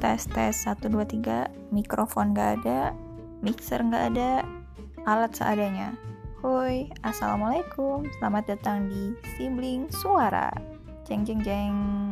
Tes 1 2 3, mikrofon gak ada, mixer gak ada, alat seadanya. Hoi, assalamualaikum, selamat datang di Sibling Suara. Jeng jeng jeng.